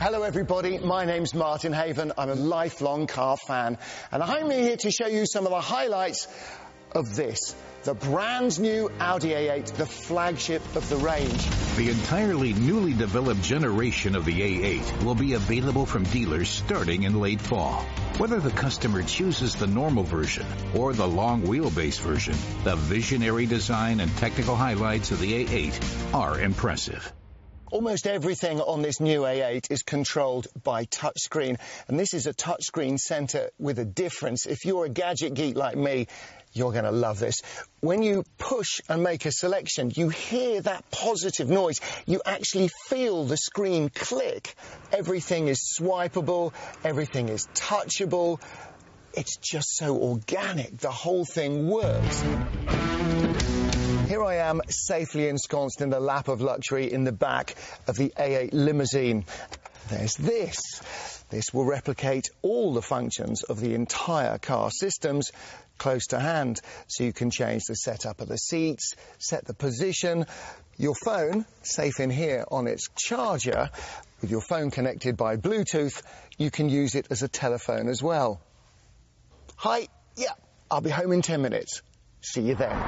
Hello everybody, my name's Martin Haven. I'm a lifelong car fan, and I'm here to show you some of the highlights of this, the brand new Audi A8, the flagship of the range. The entirely newly developed generation of the A8 will be available from dealers starting in late fall. Whether the customer chooses the normal version or the long wheelbase version, the visionary design and technical highlights of the A8 are impressive. Almost everything on this new A8 is controlled by touchscreen, and this is a touchscreen centre with a difference. If you're a gadget geek like me, you're going to love this. When you push and make a selection, you hear that positive noise. You actually feel the screen click. Everything is swipeable, everything is touchable. It's just so organic. The whole thing works. Here I am, safely ensconced in the lap of luxury in the back of the A8 limousine. There's this. This will replicate all the functions of the entire car systems close to hand. So you can change the setup of the seats, set the position. Your phone, safe in here on its charger, with your phone connected by Bluetooth, you can use it as a telephone as well. Hi, yeah, I'll be home in 10 minutes. See you then.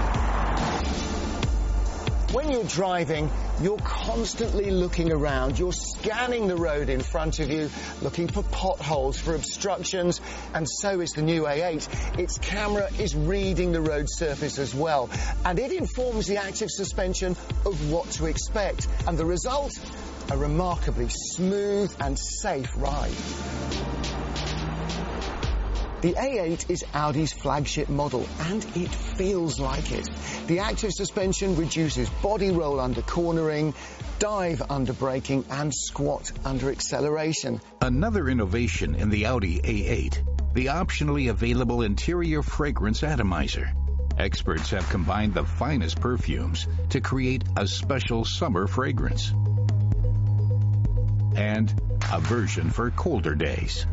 When you're driving, you're constantly looking around. You're scanning the road in front of you, looking for potholes, for obstructions, and so is the new A8. Its camera is reading the road surface as well, and it informs the active suspension of what to expect. And the result? A remarkably smooth and safe ride. The A8 is Audi's flagship model, and it feels like it. The active suspension reduces body roll under cornering, dive under braking, and squat under acceleration. Another innovation in the Audi A8, the optionally available interior fragrance atomizer. Experts have combined the finest perfumes to create a special summer fragrance and a version for colder days.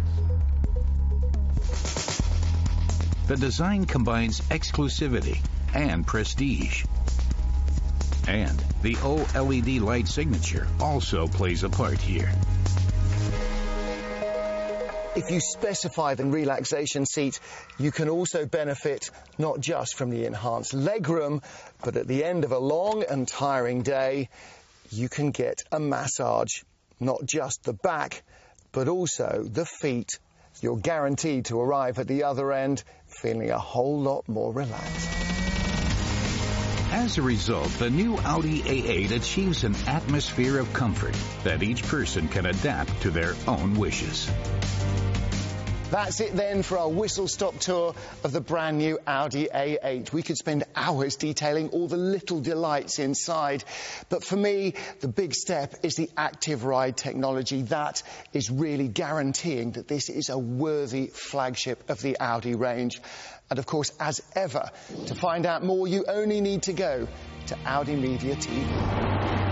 The design combines exclusivity and prestige. And the OLED light signature also plays a part here. If you specify the relaxation seat, you can also benefit not just from the enhanced legroom, but at the end of a long and tiring day, you can get a massage. Not just the back, but also the feet. You're guaranteed to arrive at the other end feeling a whole lot more relaxed. As a result, the new Audi A8 achieves an atmosphere of comfort that each person can adapt to their own wishes. That's it then for our whistle-stop tour of the brand new Audi A8. We could spend hours detailing all the little delights inside. But for me, the big step is the Active Ride technology. That is really guaranteeing that this is a worthy flagship of the Audi range. And of course, as ever, to find out more, you only need to go to Audi Media TV.